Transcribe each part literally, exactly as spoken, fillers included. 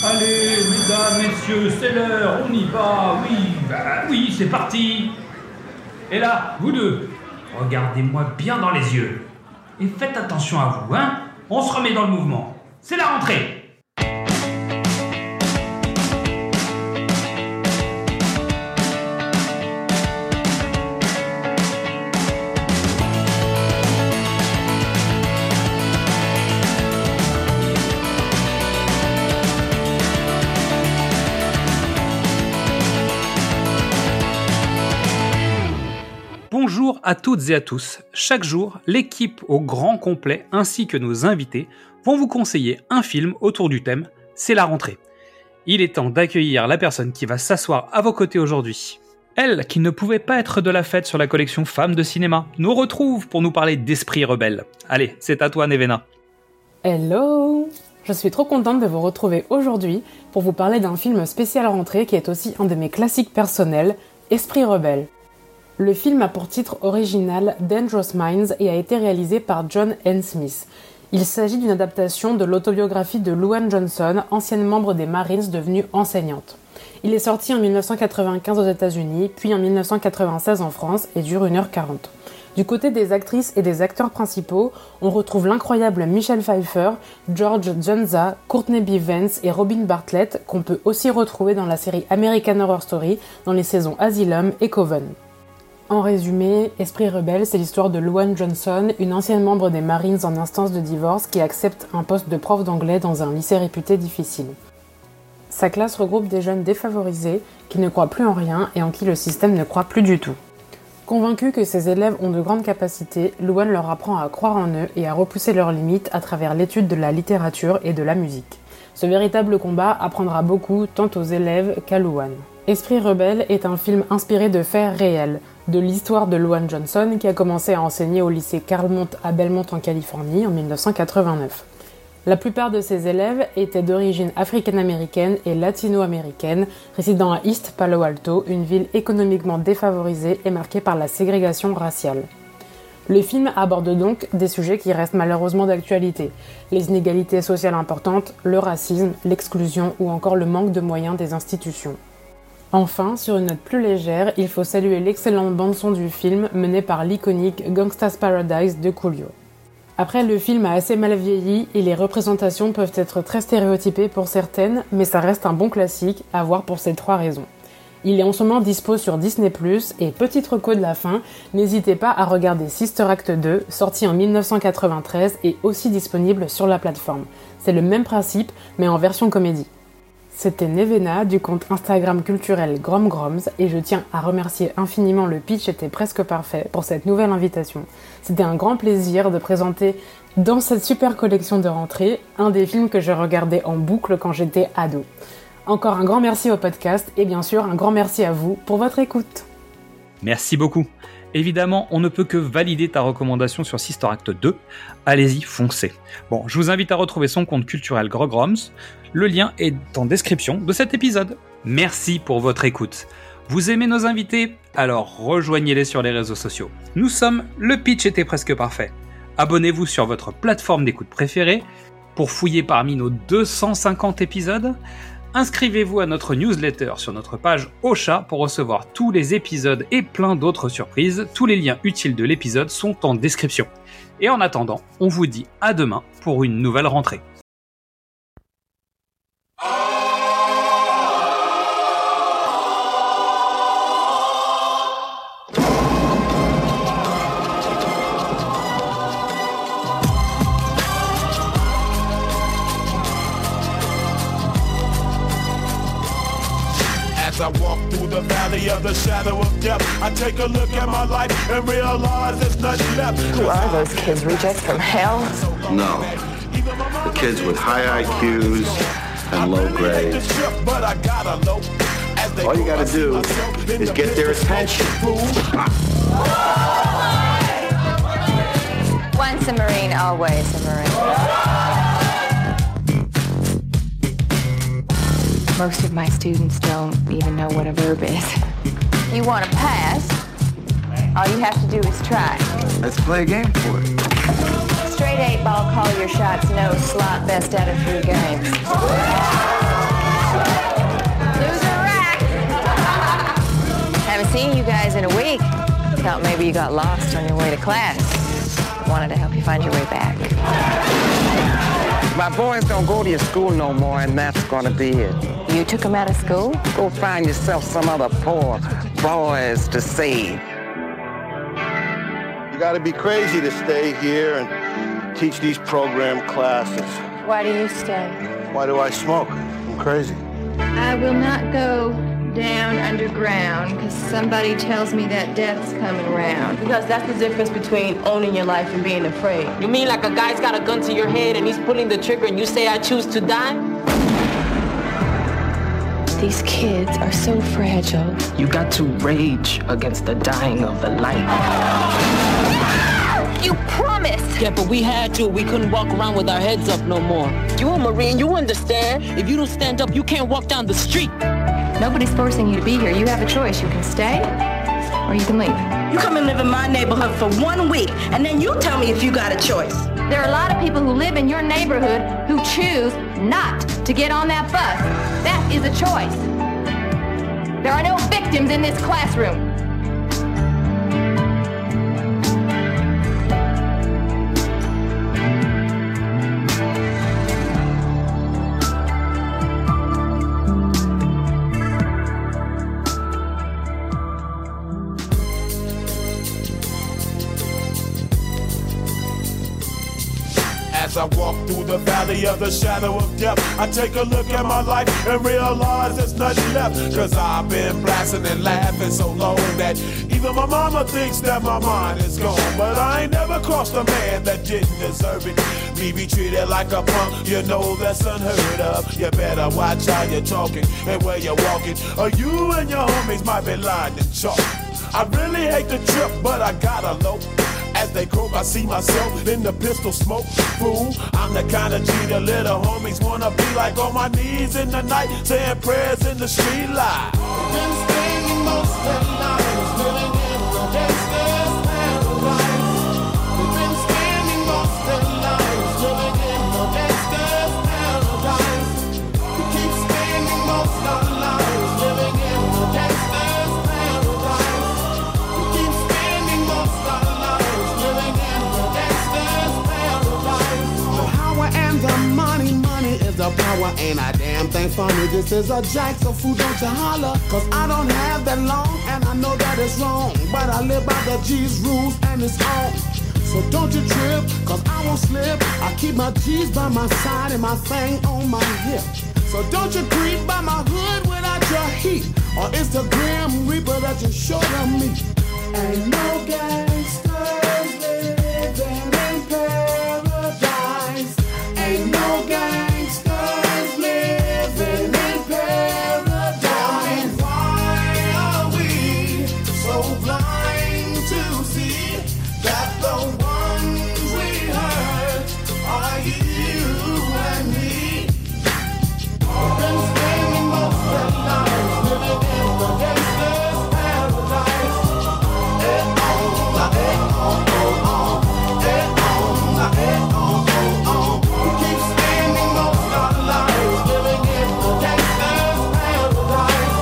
Allez, mesdames, messieurs, c'est l'heure, on y va, oui, bah oui, c'est parti. Et là, vous deux, regardez-moi bien dans les yeux. Et faites attention à vous, hein. On se remet dans le mouvement. C'est la rentrée. Bonjour à toutes et à tous. Chaque jour, l'équipe au grand complet ainsi que nos invités vont vous conseiller un film autour du thème « C'est la rentrée ». Il est temps d'accueillir la personne qui va s'asseoir à vos côtés aujourd'hui. Elle, qui ne pouvait pas être de la fête sur la collection Femmes de cinéma, nous retrouve pour nous parler d'Esprit rebelle. Allez, c'est à toi Nevena. Hello! Je suis trop contente de vous retrouver aujourd'hui pour vous parler d'un film spécial rentrée qui est aussi un de mes classiques personnels, Esprit rebelle. Le film a pour titre original Dangerous Minds et a été réalisé par John N. Smith. Il s'agit d'une adaptation de l'autobiographie de Louann Johnson, ancienne membre des Marines devenue enseignante. Il est sorti en dix-neuf cent quatre-vingt-quinze aux États-Unis, puis en dix-neuf cent quatre-vingt-seize en France et dure une heure quarante. Du côté des actrices et des acteurs principaux, on retrouve l'incroyable Michelle Pfeiffer, George Dzundza, Courtney B. Vance et Robin Bartlett, qu'on peut aussi retrouver dans la série American Horror Story dans les saisons Asylum et Coven. En résumé, Esprit rebelle, c'est l'histoire de Louann Johnson, une ancienne membre des Marines en instance de divorce qui accepte un poste de prof d'anglais dans un lycée réputé difficile. Sa classe regroupe des jeunes défavorisés qui ne croient plus en rien et en qui le système ne croit plus du tout. Convaincue que ses élèves ont de grandes capacités, Louann leur apprend à croire en eux et à repousser leurs limites à travers l'étude de la littérature et de la musique. Ce véritable combat apprendra beaucoup tant aux élèves qu'à Louann. Esprit rebelle est un film inspiré de faits réels, de l'histoire de Louann Johnson qui a commencé à enseigner au lycée Carlmont à Belmont en Californie en dix-neuf cent quatre-vingt-neuf. La plupart de ses élèves étaient d'origine africaine-américaine et latino-américaine, résidant à East Palo Alto, une ville économiquement défavorisée et marquée par la ségrégation raciale. Le film aborde donc des sujets qui restent malheureusement d'actualité, les inégalités sociales importantes, le racisme, l'exclusion ou encore le manque de moyens des institutions. Enfin, sur une note plus légère, il faut saluer l'excellente bande-son du film menée par l'iconique Gangsta's Paradise de Coolio. Après, le film a assez mal vieilli et les représentations peuvent être très stéréotypées pour certaines, mais ça reste un bon classique à voir pour ces trois raisons. Il est en ce moment dispo sur Disney plus, et petite reco de la fin, n'hésitez pas à regarder Sister Act deux, sorti en dix-neuf cent quatre-vingt-treize et aussi disponible sur la plateforme. C'est le même principe, mais en version comédie. C'était Nevena du compte Instagram culturel Grom Groms et je tiens à remercier infiniment le pitch était presque parfait pour cette nouvelle invitation. C'était un grand plaisir de présenter dans cette super collection de rentrée un des films que je regardais en boucle quand j'étais ado. Encore un grand merci au podcast et bien sûr un grand merci à vous pour votre écoute. Merci beaucoup. Évidemment, on ne peut que valider ta recommandation sur Sister Act deux. Allez-y, foncez. Bon, je vous invite à retrouver son compte culturel Grogroms. Le lien est en description de cet épisode. Merci pour votre écoute. Vous aimez nos invités? Alors rejoignez-les sur les réseaux sociaux. Nous sommes Le Pitch était presque parfait. Abonnez-vous sur votre plateforme d'écoute préférée pour fouiller parmi nos deux cent cinquante épisodes. Inscrivez-vous à notre newsletter sur notre page Ocha pour recevoir tous les épisodes et plein d'autres surprises. Tous les liens utiles de l'épisode sont en description. Et en attendant, on vous dit à demain pour une nouvelle rentrée. I walk through the valley of the shadow of death, I take a look at my life and realize there's nothing left. Who are those kids, rejects from hell? No. The kids with high I Qs and low grades. All you gotta do is get their attention. Once a Marine, always a Marine. Most of my students don't even know what a verb is. You want to pass? All you have to do is try. Let's play a game for it. Straight eight ball, call your shots, no slot, best out of three games. in a week. Thought maybe you got lost on your way to class. Wanted to help you find your way back. My boys don't go to your school no more, and that's gonna be it. You took them out of school? Go find yourself some other poor boys to save. You gotta be crazy to stay here and teach these program classes. Why do you stay? Why do I smoke? I'm crazy. I will not go down underground because somebody tells me that death's coming around. Because that's the difference between owning your life and being afraid. You mean like a guy's got a gun to your head and he's pulling the trigger and you say, I choose to die? These kids are so fragile. You got to rage against the dying of the light. You promised! Yeah, but we had to. We couldn't walk around with our heads up no more. You a Marine, you understand. If you don't stand up, you can't walk down the street. Nobody's forcing you to be here. You have a choice. You can stay or you can leave. You come and live in my neighborhood for one week, and then you tell me if you got a choice. There are a lot of people who live in your neighborhood who choose not to get on that bus. That is a choice. There are no victims in this classroom. As I walk through the valley of the shadow of death, I take a look at my life and realize there's nothing left. Cause I've been blasting and laughing so long that even my mama thinks that my mind is gone. But I ain't never crossed a man that didn't deserve it. Me be treated like a punk, you know that's unheard of. You better watch how you're talking and where you're walking, or you and your homies might be lying in chalk. I really hate the trip, but I gotta low. As they croak, I see myself in the pistol smoke. Fool, I'm the kind of G the little homies wanna be like, on my knees in the night, saying prayers in the street light. Been spending most of their lives living in the gangster's paradise. We've been spending most of their lives living in the gangster's paradise. We keep spending most of our lives living in the gangster's paradise. We keep spending most of our lives living in the gangster's paradise. The power and the money, money is the power. Ain't a damn thing funny. This is a jack, so fool, don't you holler. Cause I don't have that long, and I know that it's wrong. But I live by the G's rules, and it's on. So don't you trip, cause I won't slip. I keep my G's by my side and my thing on my hip. So don't you creep by my hood without your heat, or it's the Grim Reaper that you sure to meet. Ain't no gangsters living in paradise. Ain't no gangsters living in paradise. Why are we so blind to see that the ones we hurt are you and me? We've been spending most of our lives living in the gangster's paradise. Eh, oh, la, eh, oh, oh, oh. Eh, oh, la, eh, oh, oh, oh. We keep spending most of our lives living in the gangster's paradise.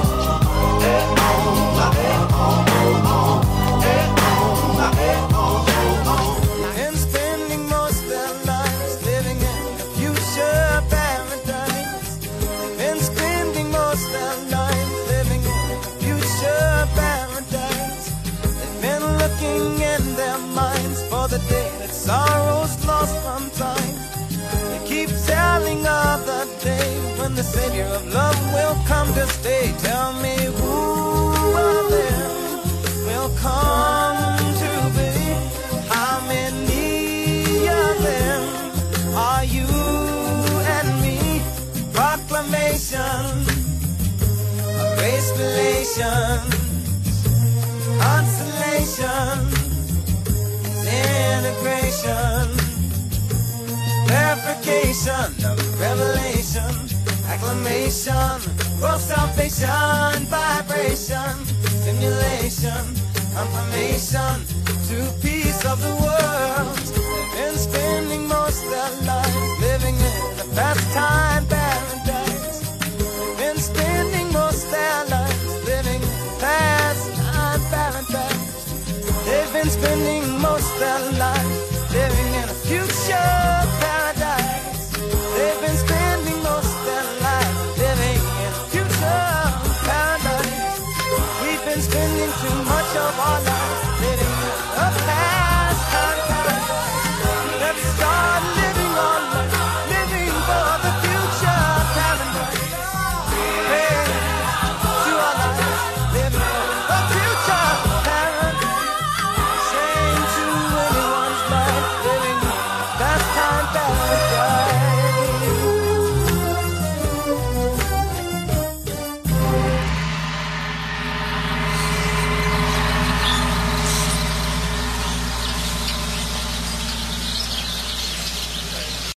Eh, oh, la, eh, oh, oh, oh. Eh, oh, la, eh, oh, oh, oh. And spending most of their lives living in the future paradise. And spending most of their lives living in the future paradise. They've been looking in their minds for the day that sorrow's lost from time. They keep telling of the day when the Savior of love will come to stay. Tell me who of them will come to be? How many of them are you and me? Proclamation of grace relations, consolation, integration, clarification of revelation, acclamation, world salvation, vibration, stimulation, confirmation to peace of the world.